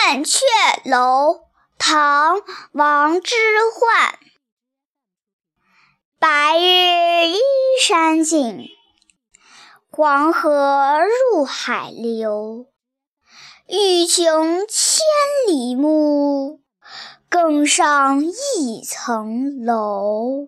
雁雀楼，唐·王之涣。白日依山尽，黄河入海流。欲穷千里目，更上一层楼。